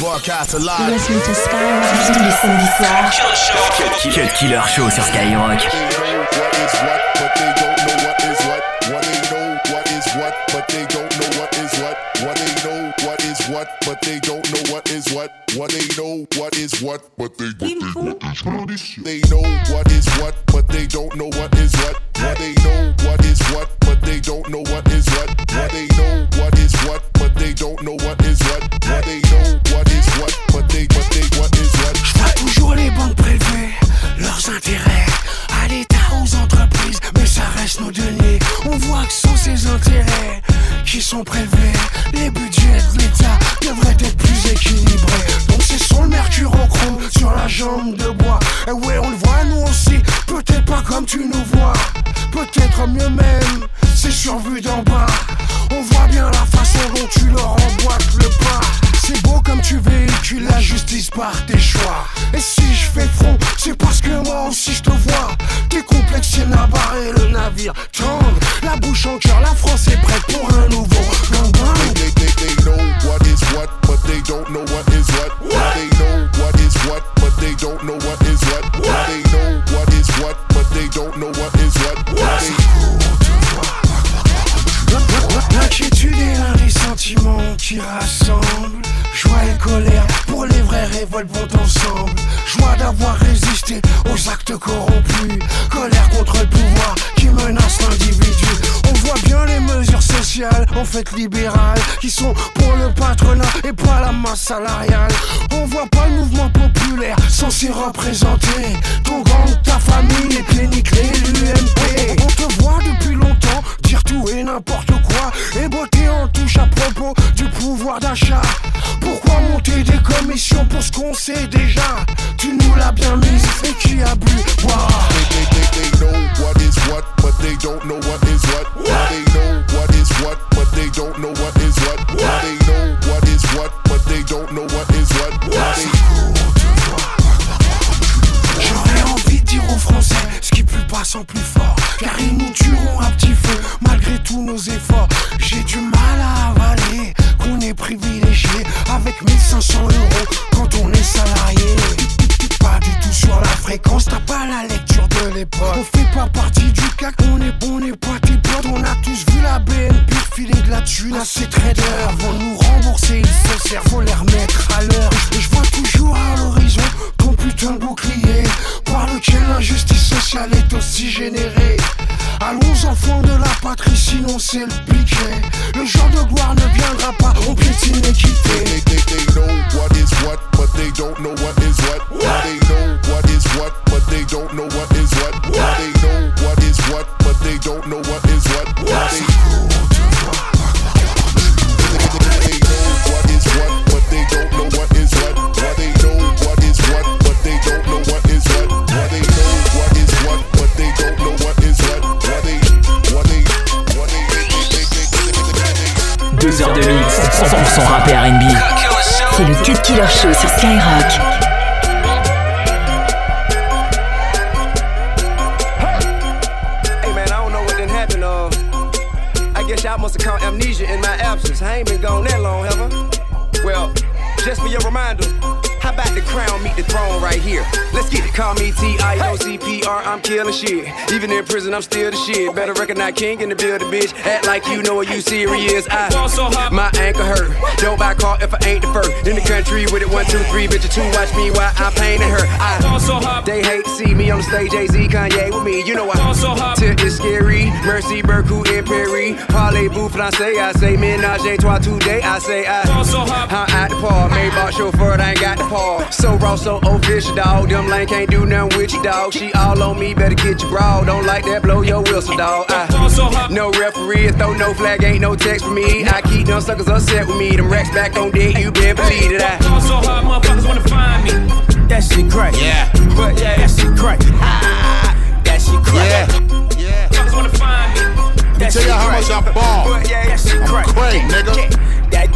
Broadcast live. Listen to Skyrock tous les samedis soirs. Cut Killer Show sur Skyrock. But they don't know what is what. What they know what is what. But they don't know what is what. What they know what is what. But they they know what is what. But they don't know what is what. What they know what is what. But they don't know what is what. What they know what is what. But they don't know what is what. What they know what is what. But they what is what. Je vois toujours les banques prélever leurs intérêts à l'État, aux entreprises, mais ça reste nos deniers. On voit que sont ces intérêts qui sont prélevés. Les budgets de l'État devraient être plus équilibrés. Donc c'est sur le mercure en chrome, sur la jambe de bois. Et ouais, on le voit nous aussi, peut-être pas comme tu nous vois, peut-être mieux même, c'est survu d'en bas. On voit bien la façon dont tu leur emboîtes le pas. C'est beau comme tu véhicules la justice par tes choix. Et si je fais front, c'est parce que moi aussi je te vois. T'es complexé, nabarre et le navire tangue. La bouche en cœur, la France est prête pour un nouveau gangbang. They know what is what, but they don't know what is what. What they know what is what, but they don't know what is what. What they know what is what, but they don't know what is what. L'inquiétude est l'un des sentiments qui rassemblent. Joie et colère, pour les vraies révoltes vont ensemble. Joie d'avoir résisté aux actes corrompus. Colère contre le pouvoir qui menace l'individu. On voit bien les mesures sociales, en fait libérales, qui sont pour le patronat et pas la masse salariale. On voit pas le mouvement populaire censé représenter ton gang, ta famille, les cliniques, l'UMP. On te voit depuis longtemps dire tout et n'importe quoi, et botter en touche à propos du pouvoir d'achat. Pourquoi monter des commissions pour ce qu'on sait déjà? Tu nous l'as bien mise et qui a bu? Wow. They know what is what, but they don't know what is what. What they know what is what, but they don't know what is what. What they know what is what, but they don't know what is what. J'aurais envie de dire aux Français ce qui plus passe en plus fort, car ils nous tueront à petit feu malgré tous nos efforts. J'ai du mal à avaler qu'on est privilégié avec 1500 € quand on est salarié. Pas du tout sur la fréquence, t'as pas la lecture de l'époque. On fait pas partie du CAC, on est pas tes potes. On a tous vu la BNP filer de la thune à ces traders. Vont nous rembourser, ils se servent, faut les remettre à l'heure. Et je vois toujours à l'horizon ton putain de bouclier par lequel l'injustice sociale est aussi générée. Allons enfants de la patrie, sinon c'est le piquet. Le genre de gloire ne viendra pas, on piétine l'équité. They know what is what, but they don't know what is what. What they know what is what, but they don't know what is what. What they know what is what, but they don't know what is what. They know what is what, but they don't know what is what. What they know what is what, but they don't know what is what. What they know what is what, but they don't know what is what. What they 2 heures de mix, 100% rap et R&B. C'est le Cut Killer Show sur Skyrock. Hey man, I don't know what done happened. I guess y'all must have caught amnesia in my absence. I ain't been gone that long, have I? Well, just for your reminder, how about the crown meet the throne right here? Let's get it. Call me T-I-O-C-P-R, I'm killing shit. Even in prison, I'm still the shit. Better recognize king in the building, bitch. Act like you know what you serious. My ankle hurt. Don't buy a car if I ain't the first. In the country with it 1, 2, 3, bitch. 2 watch me while I'm painting her. They hate to see me on the stage. Jay-Z, Kanye with me. You know I Tip is scary. Mercy, Berkut, and Perry. Parlez-vous français? I say ménage à trois today. I say I'm at the park. Maybach chauffeur, I ain't got the park. So raw, so official, dog. Them lane can't do nothing with you, dog. She all on me, better get your bra. Don't like that, blow your whistle, dog. No referee, throw no flag, ain't no text for me. I keep them suckers upset with me. Them racks back on deck, you been believe that I so hard, motherfuckers wanna find me. That shit crack. Yeah. But yeah, that shit crack. That shit crack. Yeah. Motherfuckers wanna find me. Tell y'all how much I ball. But yeah, that shit crack. Craig, nigga. That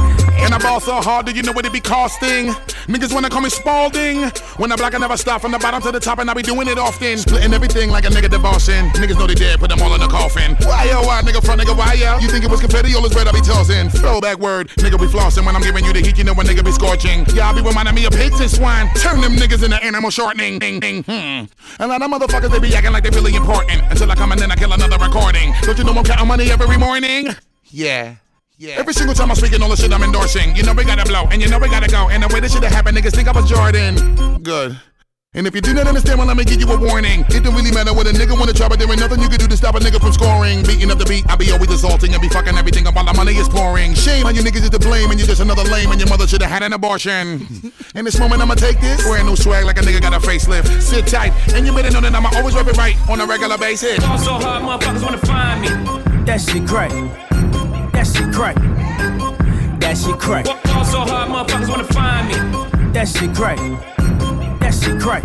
And I ball so hard, do you know what it be costing? Niggas wanna call me Spalding. When I block, I never stop from the bottom to the top, and I be doing it often. Splitting everything like a nigga divorcing. Niggas know they dead, put them all in the coffin. Why, oh, why, nigga, front, nigga, why, yo? You think it was confetti, all this bread I be tossing. Throwback word, nigga be flossing. When I'm giving you the heat, you know when nigga be scorching. Yeah, I be reminding me of pigs and swine. Turn them niggas into animal shortening. A lot of motherfuckers, they be acting like they really important. Until I come and then I kill another recording. Don't you know I'm counting money every morning? Yeah. Every single time I'm speaking all the shit I'm endorsing. You know we gotta blow, and you know we gotta go. And the way this shit happened, niggas think I was Jordan. Good. And if you do not understand, well, let me give you a warning. It don't really matter what a nigga wanna try, but there ain't nothing you can do to stop a nigga from scoring. Beating up the beat, I be always assaulting and be fucking everything up while the money is pouring. Shame on you niggas is to blame, and you're just another lame, and your mother should've had an abortion. In this moment, I'ma take this. Wearing new swag like a nigga got a facelift. Sit tight, and you better know that I'ma always rep it right on a regular basis. Fall so hard, motherfuckers wanna find me. That shit crack. That shit crack. That shit crack. Fall so hard, motherfuckers wanna find me. That shit crack. That shit crack.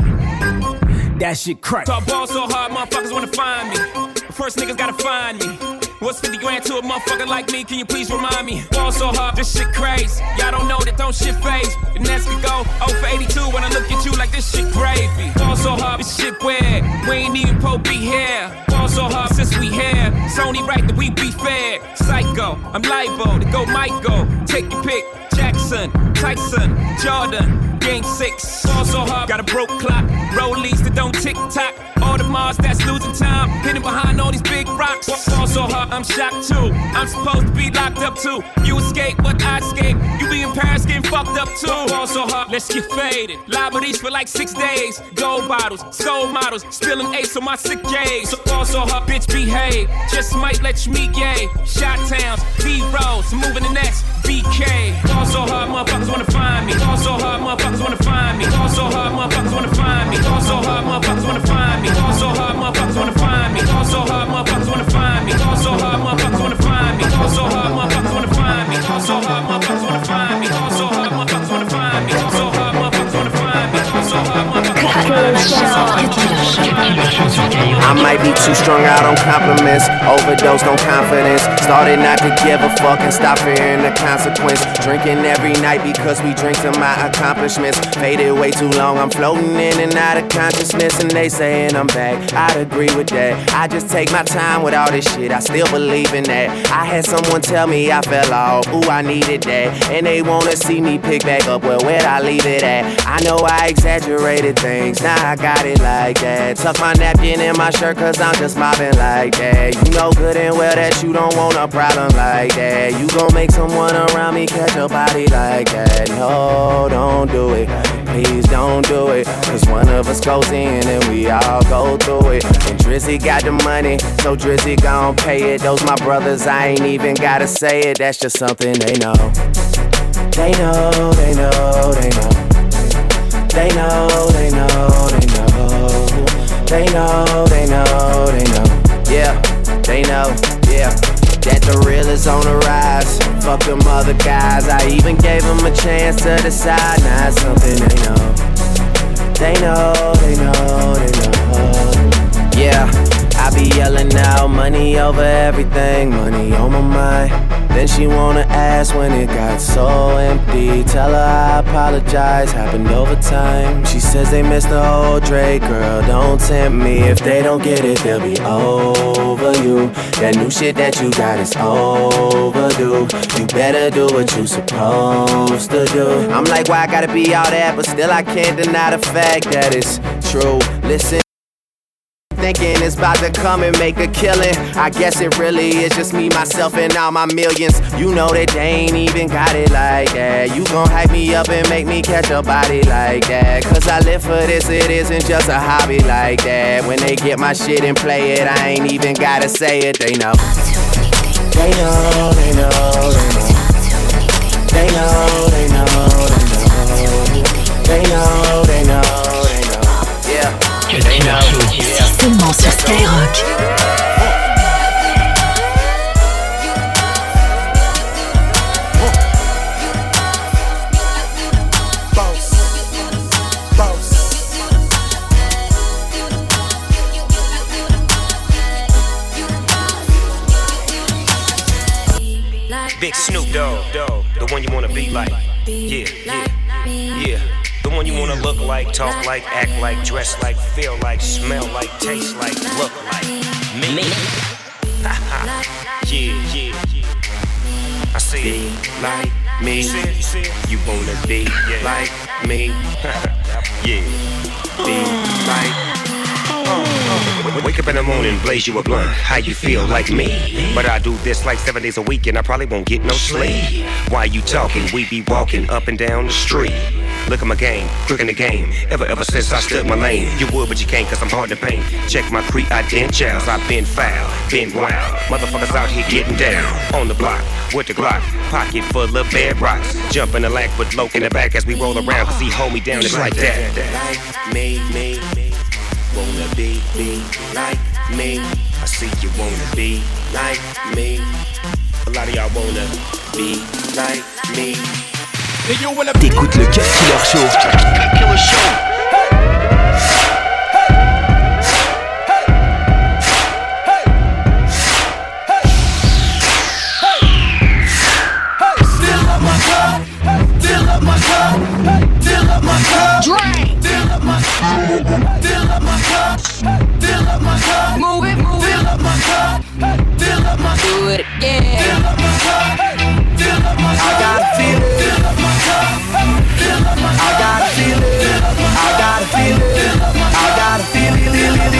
That shit crack. Talk ball so hard, motherfuckers wanna find me. First niggas gotta find me. What's 50 grand to a motherfucker like me? Can you please remind me? Ball so hard, this shit crazy. Y'all don't know that don't shit phase. And as we go 0 for 82 when I look at you like this shit gravy. Ball so hard, this shit weird. We ain't even Pope be here. Ball so hard since we here. It's only right that we be fair. Psycho, I'm liable to go Michael. Take your pick. Jackson, Tyson, Jordan, Game 6. Ball so hard, got a broke clock. Rollies that don't tick tock. All the Mars that's losing time. Hidden behind all these big rocks. Ball so hard, I'm shocked too. I'm supposed to be locked up too. You escape, but I escape. You be in Paris getting fucked up too. Ball so hard, let's get faded. Liberties for like 6 days. Gold bottles, soul models. Spilling ace on my sick days. So ball so hard, bitch behave. Just might let you meet gay. Shot towns, B-rolls, moving the next BK. Ball so hard, motherfuckers wanna find me. Ball so hard, motherfuckers wanna find me. Ball so hard, motherfuckers wanna find me. Ball so hard, motherfuckers wanna find me. Ball so hard, motherfuckers wanna find me. Ball so hard, motherfuckers wanna find me. Ball so hard, motherfuckers wanna find me. Ball so hard, motherfuckers wanna find me. Ball so hard, motherfuckers wanna find me. Ball so hard, motherfuckers wanna find me. Ball so hard, motherfuckers wanna find me. Ball so hard, motherfuckers wanna find me. I might be too strung out on compliments, overdosed on confidence. Started not to give a fuck and stop fearing the consequence. Drinking every night because we drink to my accomplishments. Faded way too long, I'm floating in and out of consciousness. And they saying I'm back, I'd agree with that. I just take my time with all this shit, I still believe in that. I had someone tell me I fell off, ooh, I needed that. And they wanna see me pick back up, well, where'd I leave it at? I know I exaggerated things, now I got it like that. Tuck my napkin in my shirt cause I'm just mobbing like that. You know good and well that you don't want a problem like that. You gon' make someone around me catch a body like that. No, don't do it, please don't do it. Cause one of us goes in and we all go through it. And Drizzy got the money, so Drizzy gon' pay it. Those my brothers, I ain't even gotta say it. That's just something they know. They know, they know, they know. They know, they know, they know. They know, they know, they know. Yeah, they know, yeah. That the real is on the rise. Fuck them other guys. I even gave them a chance to decide. Now it's something they know. They know, they know, they know. Yeah, I be yelling out money over everything. Money on my mind. Then she wanna ask when it got so empty. Tell her I apologize, happened over time. She says they missed the whole Drake, girl, don't tempt me. If they don't get it, they'll be over you. That new shit that you got is overdue. You better do what you supposed to do. I'm like, why I gotta be all that? But still I can't deny the fact that it's true. Listen, thinking it's about to come and make a killing. I guess it really is just me, myself, and all my millions. You know that they ain't even got it like that. You gon' hype me up and make me catch a body like that. Cause I live for this, it isn't just a hobby like that. When they get my shit and play it, I ain't even gotta say it, they know. They know, they know, they know. They know, they know, they know. They know, they know, they know. Yeah. They know. Seulement sur Skyrock. Big Snoop Dogg. the one you wanna be like. Yeah, yeah, yeah. The one you wanna look like, talk like, act like, dress like, feel like, smell like, taste like, look like me. Haha, yeah, yeah. I see it. Like me. You wanna be like me. Yeah. Be like. Wake up in the morning, blaze you a blunt. How you feel like me? But I do this like 7 days a week and I probably won't get no sleep. While you talking, we be walking up and down the street. Look at my game, quick in the game. Ever since I stood my lane. You would, but you can't cause I'm hard to paint. Check my credentials, I've been foul, been wild. Motherfuckers out here getting down. On the block, with the Glock. Pocket full of bad rocks. Jump in the lack with Loke in the back as we roll around. Cause he hold me down, it's like that. Like me. Wanna be like me. I see you wanna be like me. A lot of y'all wanna be like me. T'écoutes le Cut Killer Show. Cut Killer Show. Move it. Do it again. I gotta feel it. I gotta feel it. I gotta feel it. I gotta feel it.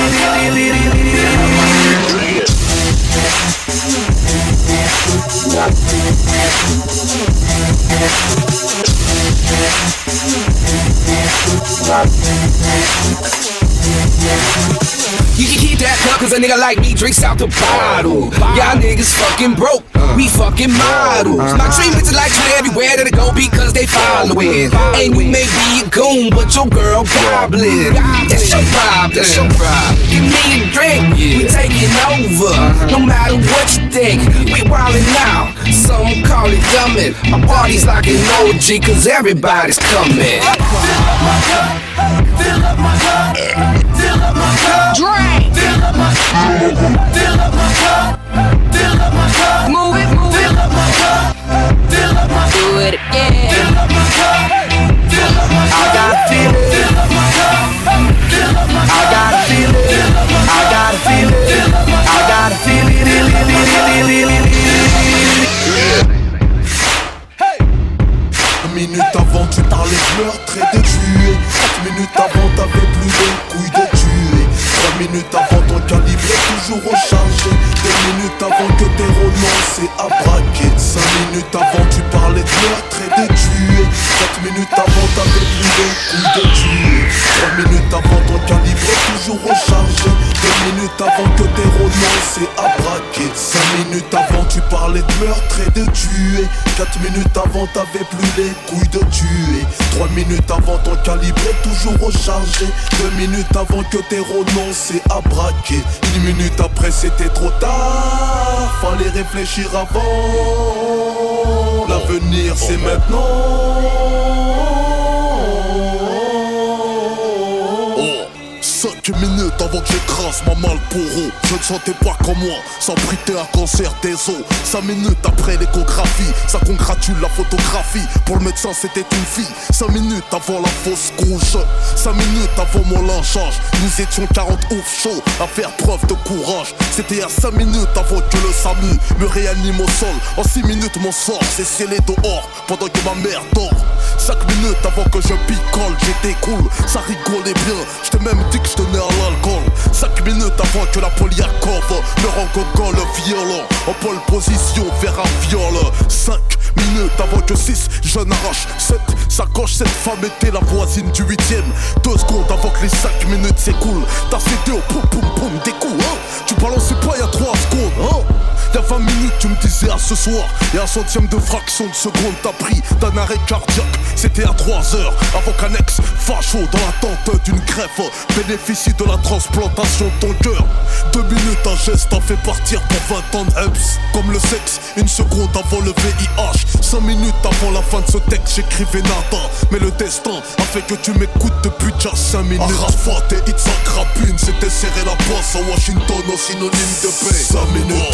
You can keep that cup cause a nigga like me drinks out the bottle. Y'all niggas fucking broke, we fucking models. My dream is to like you everywhere that I go because they following. And we may be a goon, but your girl goblin. That's your problem. Give me a drink, we taking over. No matter what you think, we wildin' out. Some call it dumbin'. My party's like an OG cause everybody's coming. Fill up my cup, fill up my cup, drink, fill up my cup, fill up my cup, fill up my cup, move it, fill up my cup, fill up my cup, do it again, fill up my cup, fill up my cup, I gotta feel it, fill up my cup, fill up my cup, I gotta feel it, I gotta feel it, I gotta feel it, Une minute avant tu parlais de meurtre et de tuer. 4 minutes avant t'avais plus de couilles de tuer. 3 minutes avant ton calibre est toujours rechargé. 2 minutes avant que tes renoncé à braquer. 5 minutes avant tu parlais de meurtre et de tuer. 4 minutes avant t'avais plus de couilles de tuer. 3 minutes avant ton calibre est toujours rechargé. 2 minutes avant que tes renoncé à braquer. 5 minutes avant tu parlais de meurtre et de tuer. 4 minutes avant t'avais plus les couilles de tuer. 3 minutes avant ton calibre est toujours rechargé. 2 minutes avant que t'aies renoncé à braquer. 1 minute après c'était trop tard. Fallait réfléchir avant. L'avenir c'est maintenant. 5 minutes avant que j'écrase ma Marlboro. Je ne sentais pas comme moi, sans prêter un cancer des os. 5 minutes après l'échographie, ça congratule la photographie. Pour le médecin c'était une fille. 5 minutes avant la fausse couche. 5 minutes avant mon lynchage, nous étions 40 ouf chauds à faire preuve de courage. C'était à 5 minutes avant que le SAMU me réanime au sol. En 6 minutes mon sort s'est scellé dehors pendant que ma mère dort. 5 minutes avant que je picole, j'étais cool, ça rigolait bien. J't'ai même dit que je tenais à l'alcool. 5 minutes avant que la Poliakov me rencontre le violent. En pole position vers un viol. 5 minutes avant que 6 jeunes arrachent 7 sacoches. Cette femme était la voisine du 8ème. 2 secondes avant que les 5 minutes s'écoulent. T'as cédé au poum poum poum des coups hein. Tu balançais pas y'a 3 secondes hein. Y'a 20 minutes tu me disais à ce soir. Et un centième de fraction de seconde t'as pris d'un arrêt cardiaque. C'était à 3 heures avant qu'un ex facho dans l'attente d'une greffe bénéficie de la transplantation de ton cœur. 2 minutes un geste t'en fait partir pour 20 ans de Heps. Comme le sexe, 1 seconde avant le VIH. 5 minutes avant la fin de ce texte j'écrivais nada. Mais le destin a fait que tu m'écoutes depuis déjà 5 minutes. Arafat et Itzhak Rabin s'étaient serré la bosse à Washington au synonyme de paix. 5 minutes avant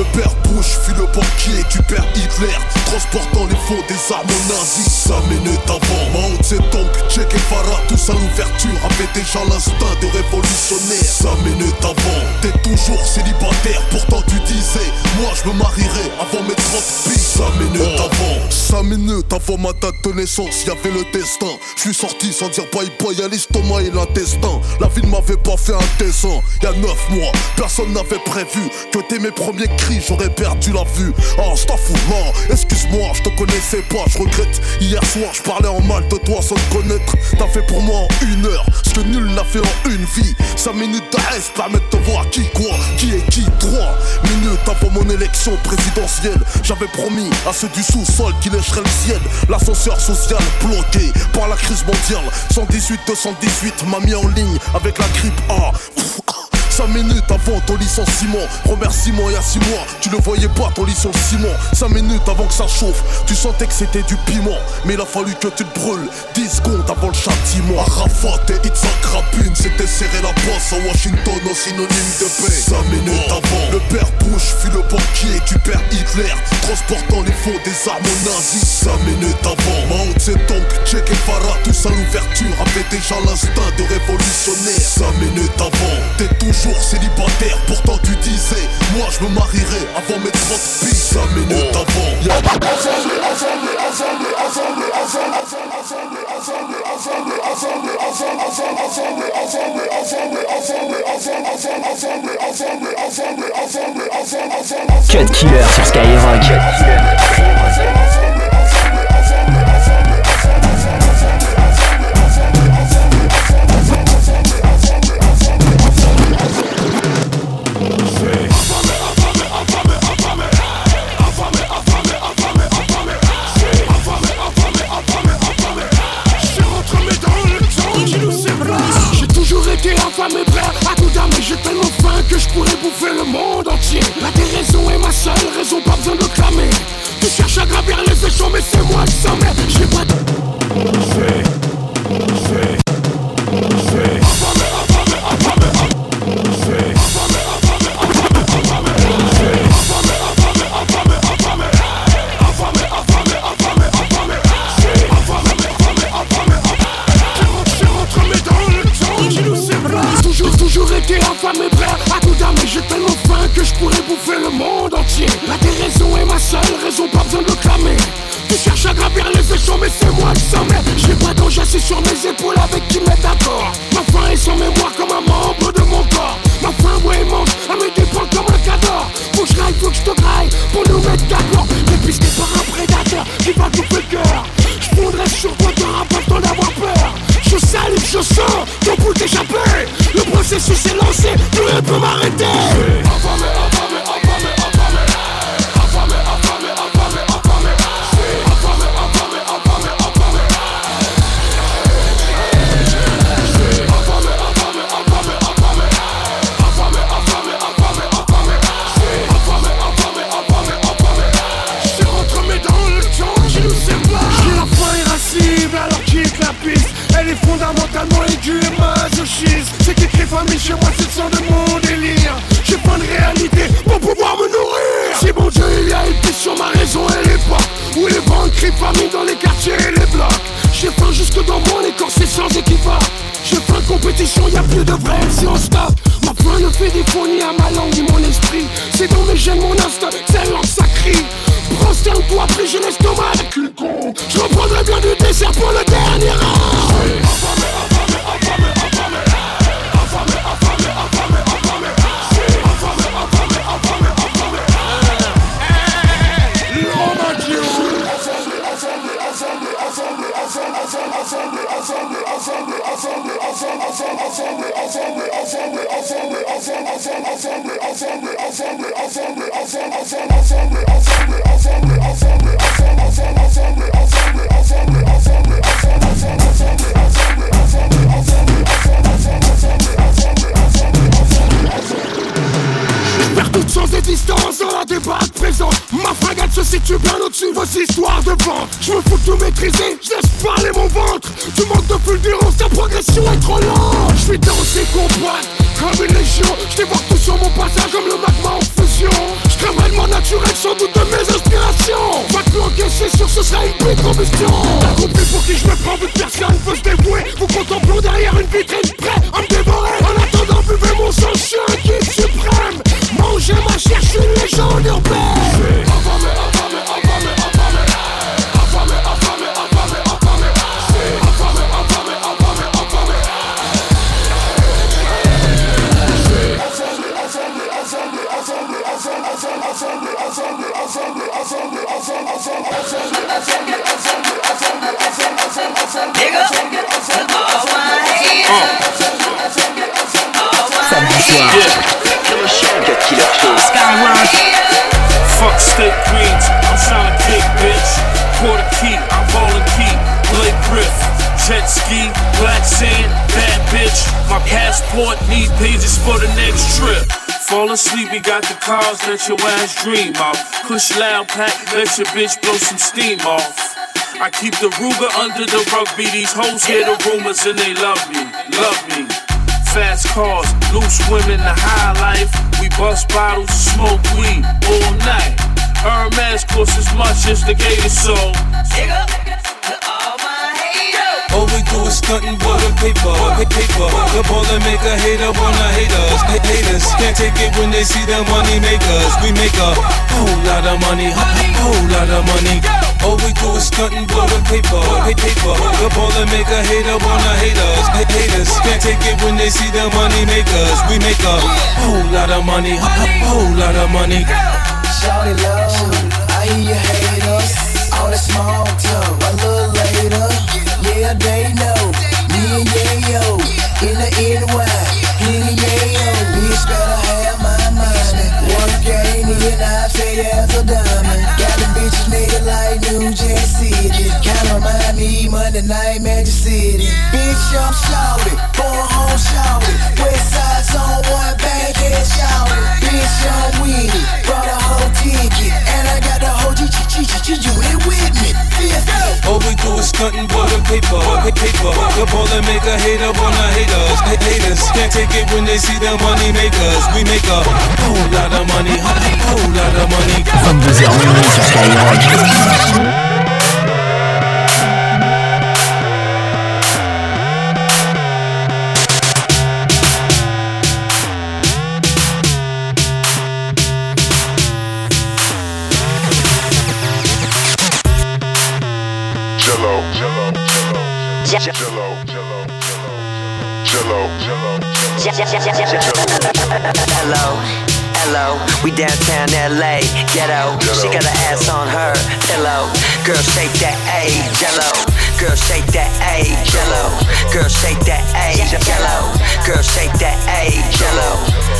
Le père Bush fut le banquier du père Hitler, transportant les fonds des armes nazis. 5 minutes avant, Mao Zedong, Che Guevara, tous à l'ouverture avaient déjà l'instinct de révolutionnaire. 5 minutes avant, t'es toujours célibataire, pourtant tu disais, moi je me marierai avant mes 30 piges. 5 minutes avant, 5 minutes avant ma date de naissance, y'avait le destin. Je suis sorti sans dire bye bye à l'estomac et l'intestin. La vie ne m'avait pas fait un dessin. Y'a 9 mois, personne n'avait prévu que dès mes premiers cris j'aurais perdu la vue. Oh, je t'en fous, non, excuse-moi, je te connaissais pas, je regrette. Hier soir, je parlais en mal de toi sans te connaître. T'as fait pour moi en 1 heure ce que nul n'a fait en une vie. 5 minutes d'arrêt permettent de voir qui quoi, qui est qui. 3 minutes avant mon élection présidentielle, j'avais promis à ceux du sous-sol qui lècheraient le ciel. L'ascenseur social bloqué par la crise mondiale. 118-218 m'a mis en ligne avec la grippe A. 5 minutes avant ton licenciement, remerciement il y a 6 mois, tu ne voyais pas ton licenciement. 5 minutes avant que ça chauffe, tu sentais que c'était du piment, mais il a fallu que tu te brûles 10 secondes avant le châtiment. Arafat et Itzhak Rabin s'étaient serré la bosse à Washington au synonyme de paix. 5 minutes avant, le père Bush fut le banquier du père Hitler, transportant les fonds des armes nazis. 5 minutes avant, Mao Zedong, Che Guevara, tous à l'ouverture avaient déjà l'instinct de révolutionnaire. 5 minutes avant, t'es toujours célibataire, pourtant tu disais, moi je me marierai avant mes 30 piges. 5 minutes avant, Cut Killer sur Skyrock. Affamé, prêt à tout damer, j'ai tellement faim que je pourrais bouffer le monde entier. La déraison est ma seule raison, pas besoin de le clamer. Tu cherches à gravir les échelons, mais c'est moi qui s'en mets. J'ai pas de... Affamé, prêt à tout damer, j'ai tellement faim que je pourrais bouffer le monde entier. La déraison est ma seule raison, pas besoin de le clamer. Tu cherches à gravir les échelons, mais c'est moi qui s'en mets. J'ai pas d'ange assis sur mes épaules avec qui m'est d'accord. Ma faim est sans mémoire comme un membre de mon corps. Ma faim, ouais, mange à mes dépens comme un cador. Faut que je raille, faut que je te graille pour nous mettre d'accord. Dépisté par un prédateur qui va tout le cœur. Je fondrais sur toi, t'auras pas le temps d'avoir peur. Je salive, je sens ton bout échappé. Le processus est lancé, plus rien peut m'arrêter. Affamé, affamé, affamé, affamé. Affamé, affamé, affamé, affamé. Affamé, affamé, affamé, affamé. Affamé, affamé, affamé, affamé. Affamé, affamé, affamé, affamé. Affamé, affamé, affamé, affamé. Je rentre mes dans le temps qui nous sépare. J'ai la faim irascible alors quitte la piste. Elle est fondamentalement aiguë et masochiste. C'est qu'écrit famille chez moi, c'est le sang de mon délire. J'ai pas de réalité pour pouvoir me nourrir. Si mon Dieu il y a une piste sur ma raison et les pas où les banques crient famille dans les quartiers et les blocs. J'ai faim jusque dans mon écorce, c'est sans équivoque. J'ai faim de compétition, y'a plus de vrai si on stop. Ma faim ne fait défaut ni à ma langue ni mon esprit. C'est dans mes gènes, mon instinct, c'est langue ça crie. Prosterne-toi, pris j'ai l'estomac avec une con. Je reprendrai bien du dessert pour le dernier rang. Affamé, affamé, affamé, affamé. Affamé, affamé, affamé, affamé. Affamé, affamé, affamé, affamé. L'homme à Dieu. Vers toute sans existence dans la débatte présente. Ma frégate se situe bien au-dessus de vos histoires de vente. Je me fous de tout maîtriser, je laisse parler mon ventre. Tu manques de fulgurance, ta progression est trop lente. Je suis dans ces combattes, comme une légion. J'dévore tout sur mon passage comme le magma en fusion. J'crame réellement naturel sans doute de mes inspirations. Va te planquer, c'est sûr ce sera une pluie de combustion. T'as compris pour qui je me prends, vu que personne veut se dévouer. Vous contemplons derrière une vitrine prêt à me dévorer. En attendant, buvez mon sang, je suis un guide suprême. Mangez ma chair, je suis une légende urbaine. Fuck steak greens, I'm tryna kick, bitch. Quarter key, I'm ballin' key. Blake Griff, jet ski, black sand, bad bitch. My passport need pages for the next trip. Fall asleep, we got the cars that your ass dream of. Push loud pack, let your bitch blow some steam off. I keep the Ruger under the rugby. These hoes hear the rumors and they love me, love me. Fast cars, loose women, the high life. We bust bottles, smoke weed all night. Hermes costs as much as the gator soul. All we do is stuntin' for the paper. The baller make a hater wanna hate us. Haters can't take it when they see the money makers. We make a whole lot of money, whole lot of money. All we do is stuntin' for the paper. The baller make a hater wanna hate us. Haters can't take it when they see the money makers. We make a whole lot of money, whole lot of money. Shawty low, I hear you hate us. All that small talk, a little later. Yeah, they know, me and Yayo, in the NY, in the Yayo. Bitch better have my money. One game in, I say as a diamond. Got them bitches nigga like New Jack City. Kinda remind me Monday Night Magic City. Bitch, I'm shouty, born home shouty. West side zone, one bang head shouty. Bitch, I'm winning, brought a whole ticket. And I got the whole G, you ain't with me. All we do is stuntin' for the paper. The baller make a hater wanna hate us. Haters can't take it when they see the money makers. We make a whole lot of money, whole lot of money. 22h minuit sur Skyrock. Hello, we downtown LA, ghetto. She got her ass on her pillow. Girl, shake that A, jello. Girl, shake that A, jello. Girl, shake that A, jello. Girl, shake that A, jello.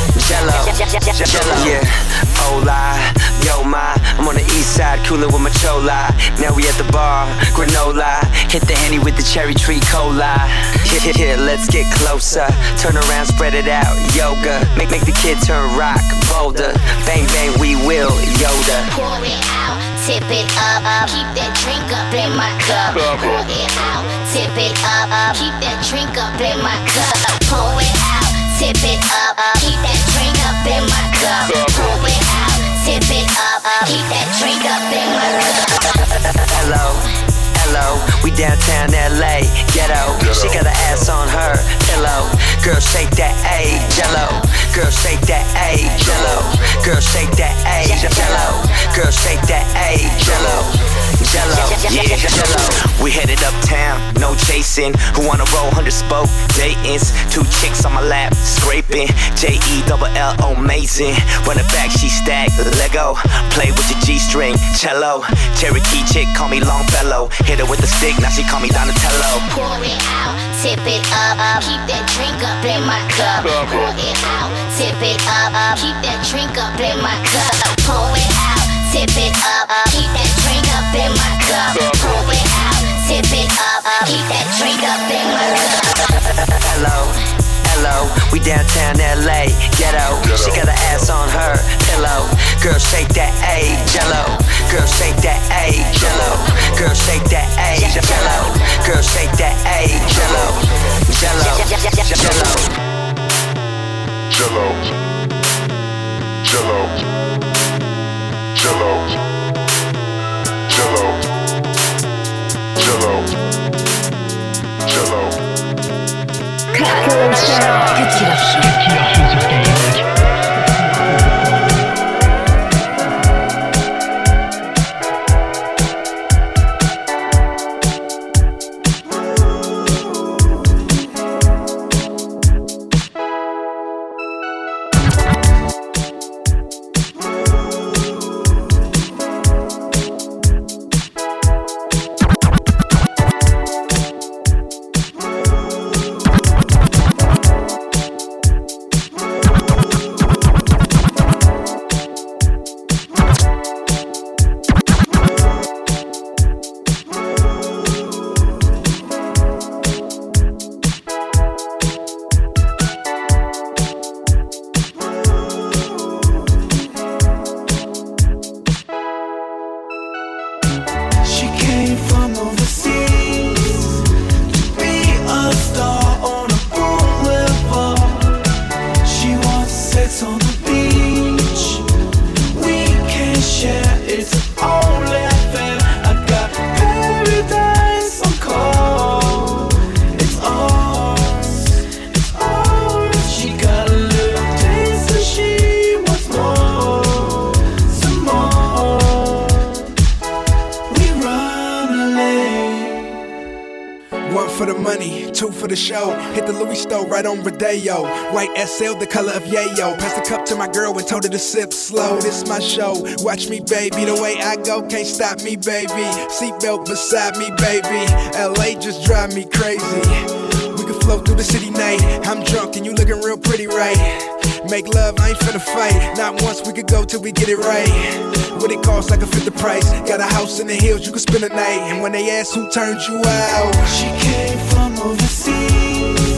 Jello, yeah. Hola, yo ma, I'm on the east side, coolin' with my chola. Now we at the bar, granola. Hit the Henny with the cherry tree cola. Here, let's get closer. Turn around, spread it out, yoga. Make the kid turn rock, bolder. Bang, bang, we will, Yoda. Pour it out, tip it up, keep that drink up in my cup. Pour it out, tip it up, keep that drink up in my cup. Pour it out, tip it up, keep that drink up in my cup. Pour it out, tip it up, keep that drink up in my cup. Hello, we downtown LA, ghetto. She got her ass on her pillow. Girl, shake that A, jello. Girl, shake that A, jello. Girl, shake that A, jello. Girl, shake that A, jello. Yeah, jello. We headed uptown, no chasing. Who wanna roll 100 spoke Dayton's? 2 chicks on my lap, scraping. JELL, amazing. Run it back, she stacked Lego. Play with your G-string, cello. Cherokee chick, call me Longfellow. Hit her with the stick, now she call me Donatello. Pour it out, tip it up, keep that drink up in my cup. Pour it out, tip it up, keep that drink up in my cup. Pour it out, tip it up, keep that drink up in my cup. Pour it out, tip it up, keep that drink up in my cup. Hello, we downtown LA, ghetto. She got her ass on her pillow. Girl, shake that A, jello. Girl, shake that A, jello. Girl, shake that A, jello. Girl, shake that A, jello. Jello, Jello, Jello, Jello, Jello, Jello. Cut Killer Show sur Skyrock. Right on Rodeo, white SL, the color of yayo. Pass the cup to my girl and told her to sip slow. This my show, watch me baby. The way I go, can't stop me baby. Seatbelt beside me baby. LA just drive me crazy. We can flow through the city night. I'm drunk and you looking real pretty right. Make love, I ain't finna fight. Not once, we could go till we get it right. What it costs, I can fit the price. Got a house in the hills, you can spend a night. And when they ask who turned you out, she came from overseas.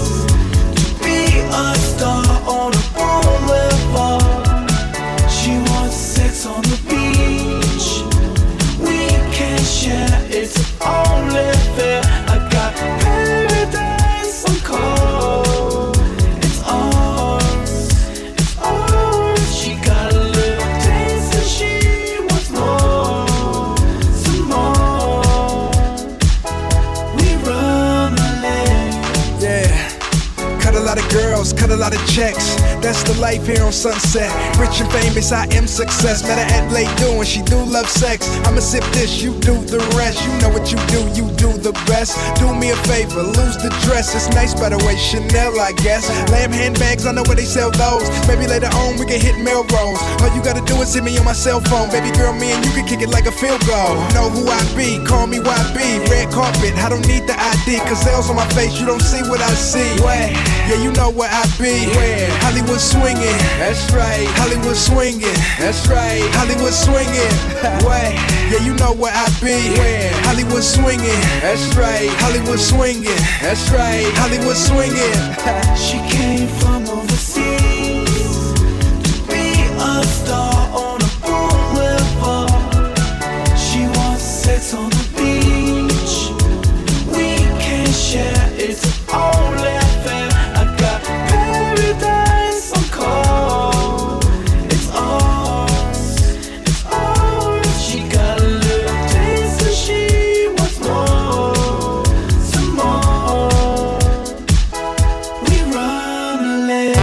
A star on a boulevard. She wants sex on the beach. We can share, it's only fair. I got paradise on call. It's ours, it's ours. She got a little taste and she wants more, some more. We run the lane, yeah. Cut a lot of girls, cut a lot of checks. That's the life here on Sunset. Rich and famous, I am success. Met her at Lake doing, she do love sex. I'ma sip this, you do the rest. You know what you do the best. Do me a favor, lose the dress. It's nice by the way, Chanel I guess. Lamb handbags, I know where they sell those. Maybe later on we can hit Melrose. All you gotta do is hit me on my cell phone. Baby girl, me and you can kick it like a field goal. Know who I be, call me YB. Red carpet, I don't need the ID. Cause L's on my face, you don't see what I see. Where? Yeah, you know where I be. Where? Hollywood swinging. That's right. Hollywood swinging. That's right. Hollywood swinging. Where? Yeah, you know where I be. Where? Hollywood swinging. That's right. Hollywood swinging. That's right. Hollywood swinging. She came from overseas to be a star on a boulevard. She wants sex on the beach. We can share, it's only fair. I got paradise on call. It's ours, it's ours. She got a little taste and she wants more, some more. We run a lane.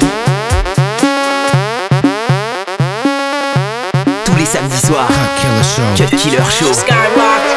Tous les samedis soirs, Cut Killer Show. Skyrock.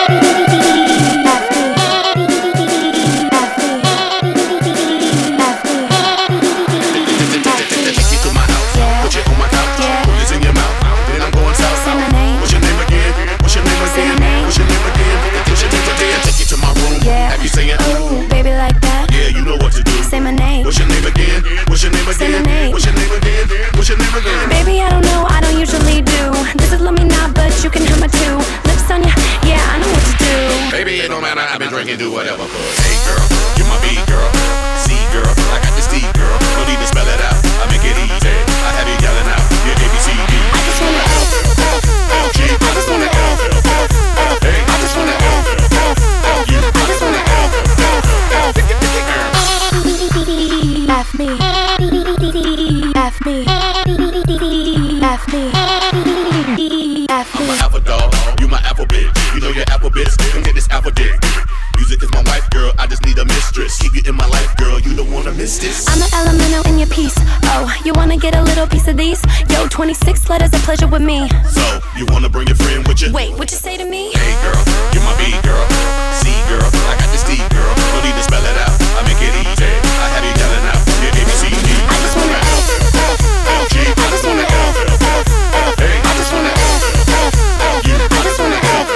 Baby, I don't know, I don't usually do. This is love me now, but you can have my two. Lips on ya, yeah, I know what to do. Baby, it don't matter, I've been drinking, do whatever. But hey girl, you're my B girl, C girl, I got this D girl. Don't need to spell it out, I make it easy. I have you yelling out, yeah, ABCD. I just wanna LG, I just wanna L. Hey, I just wanna L. You, I just wanna L. F me. day. Music is my wife, girl, I just need a mistress. Keep you in my life, girl, you don't wanna miss this. I'm an elemental in your piece. Oh, you wanna get a little piece of these? Yo, 26 letters of pleasure with me. So, you wanna bring your friend with you? Wait, what you say to me? Hey girl, you're my B girl. C girl, I got this D girl. No need to spell it out, I make it easy. I have you yelling out, yeah, ABCD. I just wanna F, L, G, I just wanna F, hey, I just wanna F, you, I just wanna F,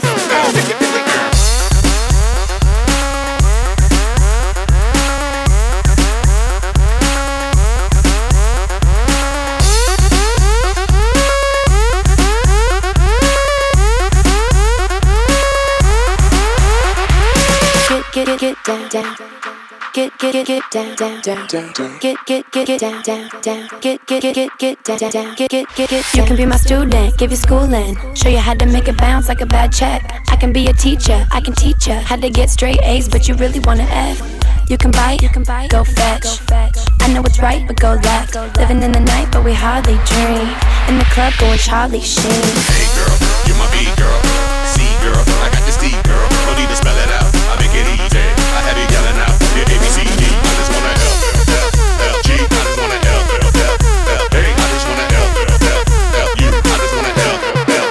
Get down, down. Get down, down, down. Get down, down, down. Get down, down. Get. You can be my student, give you schooling, show you how to make it bounce like a bad check. I can be a teacher, I can teach you how to get straight A's, but you really wanna F. You can bite, go fetch. I know it's right, but go left. Living in the night, but we hardly dream. In the club, going Charlie Sheen. Hey girl, you're my B girl. C girl, I got this D girl. No need to spell it out, I make it easy. I have you yelling out, yeah, ABCD. I just wanna L, L, G. I just wanna L, hey, I just wanna L, you. I just wanna L.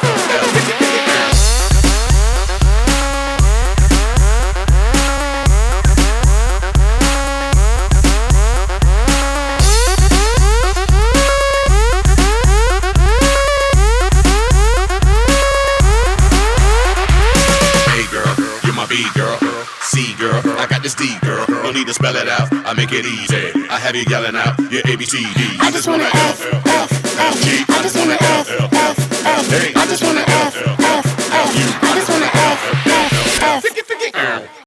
B girl, C girl, I got this D girl. No need to spell it out, I make it easy. I have you yelling out, yeah, ABCD. I just wanna F, L, G. I just wanna F, hey, I just wanna F, you. I just wanna F.